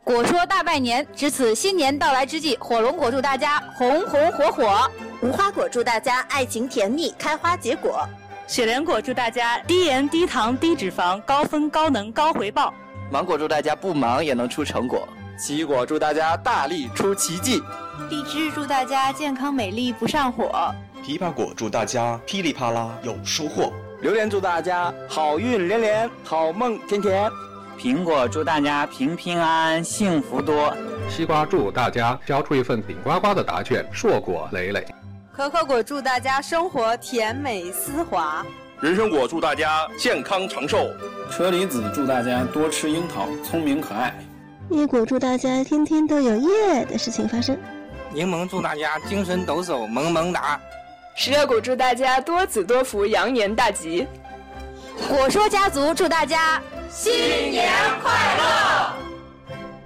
果说大拜年，值此新年到来之际，火龙果祝大家红红火火； 无花果祝大家爱情甜蜜，开花结果； 雪莲果祝大家低盐低糖低脂肪，高分高能高回报； 芒果祝大家不忙也能出成果； 奇异果祝大家大力出奇迹； 荔枝祝大家健康美丽不上火； 枇杷果祝大家噼里啪啦有收获； 榴莲祝大家好运连连，好梦甜甜； 苹果祝大家平平安安，幸福多； 西瓜祝大家交出一份顶呱呱的答卷，硕果累累； 可可果祝大家生活甜美丝滑； 人参果祝大家健康长寿； 车厘子祝大家多吃樱桃，聪明可爱； 椰果祝大家天天都有耶的事情发生； 柠檬祝大家精神抖擞，萌萌哒； 十月果祝大家多子多福，羊年大吉； 果说家族祝大家新年快乐。